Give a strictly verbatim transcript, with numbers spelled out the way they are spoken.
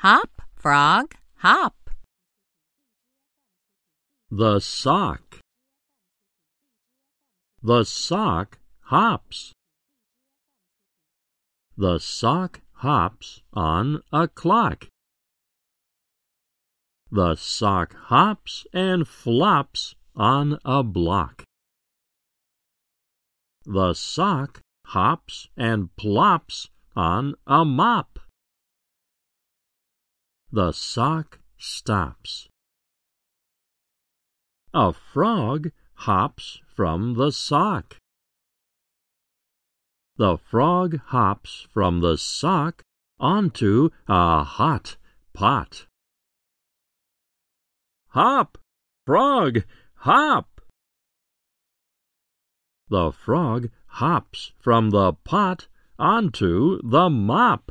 Hop, frog, hop. The sock. The sock hops. The sock hops on a clock. The sock hops and flops on a block. The sock hops and plops on a mop. The sock stops. A frog hops from the sock. The frog hops from the sock onto a hot pot. Hop, frog, hop! The frog hops from the pot onto the mop.